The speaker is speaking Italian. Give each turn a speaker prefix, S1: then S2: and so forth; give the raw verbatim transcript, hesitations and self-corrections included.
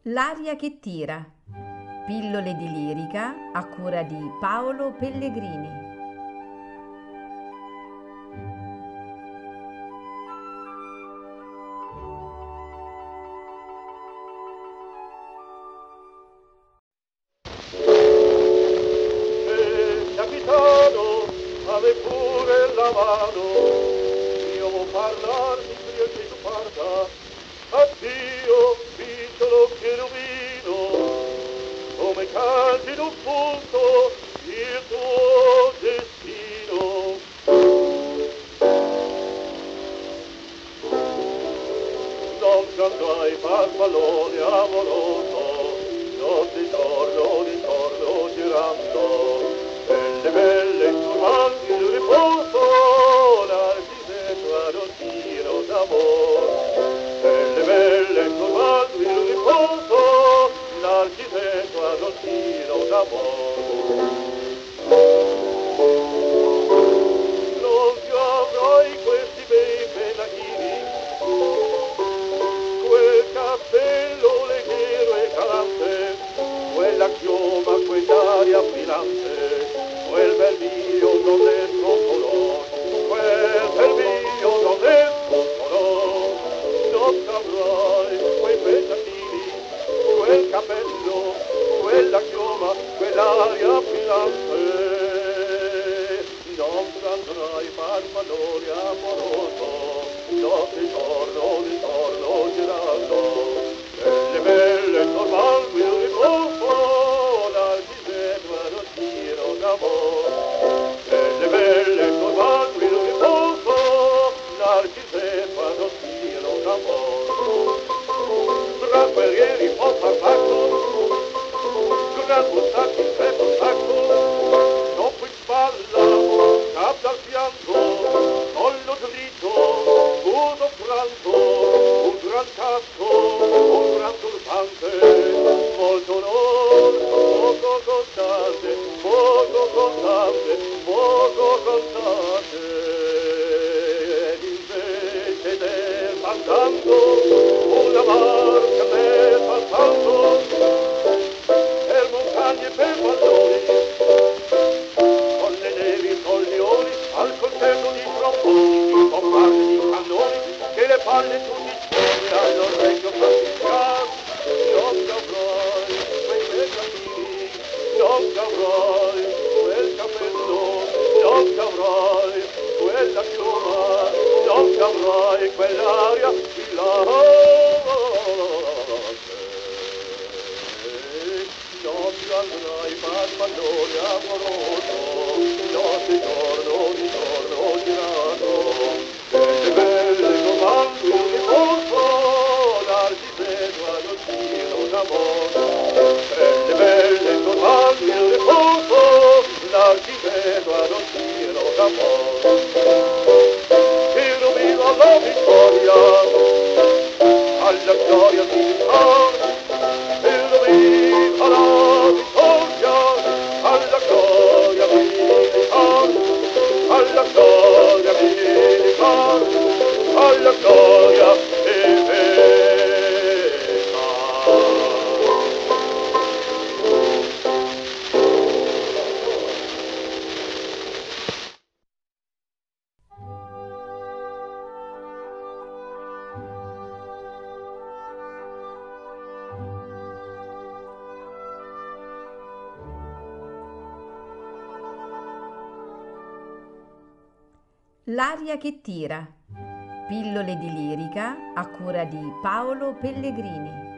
S1: L'aria che tira. Pillole di lirica a cura di Paolo Pellegrini.
S2: Eh, capitano, ave pure la mano, io vuol parlarti prima che tu parta. Addio, piccolo cherubino, come canti d'un punto il tuo destino. Non cantai farfallone amoroso, notte e giorno di giorno girando, belle belle turbanti il riposo, l'architetto ad un tiro d'amor. Belle belle turbanti il riposo, l'architetto ad un tiro d'amor. Non ti avrai questi bei pennacchini, quel cappello leggero e calante, quella chioma, quell'aria brillante, quel bel mio non è color, quel bel mio non è color. Non avrai quei pennacchini, quel cappello, quella chioma, quell'aria brillante. Non andrai farfallone amoroso, notte e giorno di giorno girando, belle belle tornando il riposo, l'architetto ad un tiro d'amor. Belle belle tornando il riposo, l'architetto ad un tiro d'amor. Tra guerrieri ho parlato, gran buttati in petto sacco, dopo in spalla, cap dal fianco, collo dritto, uso franco, un gran casco, un gran turbante, molto onor, poco contante, poco contante, poco contante. Ed invece del fandango, una barca nel passando, per montagne e per valloni, con le nevi follioni, al coltello di tromboni, di bombarde di cannoni, che le palle tutti suoni all'orecchio franciscano. Non t'avrai quei pennacchini, non t'avrai quel cappello, non t'avrai quella chioma, non t'avrai quell'aria brillante. Non ti andrai farfallone amoroso, notte e giorno di giorno girando, belle belle comando il riposo, l'architetto ad un tiro d'amor. Belle belle comando il riposo, l'architetto ad un tiro d'amor. Tiro viva la vittoria, alla gloria militare. Viva la vittoria, alla gloria militare, alla gloria militare, alla gloria e bella.
S1: L'aria che tira. Pillole di lirica a cura di Paolo Pellegrini.